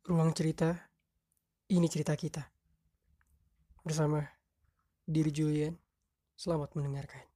Ruang cerita, ini cerita kita. Bersama diri Julian, selamat mendengarkan.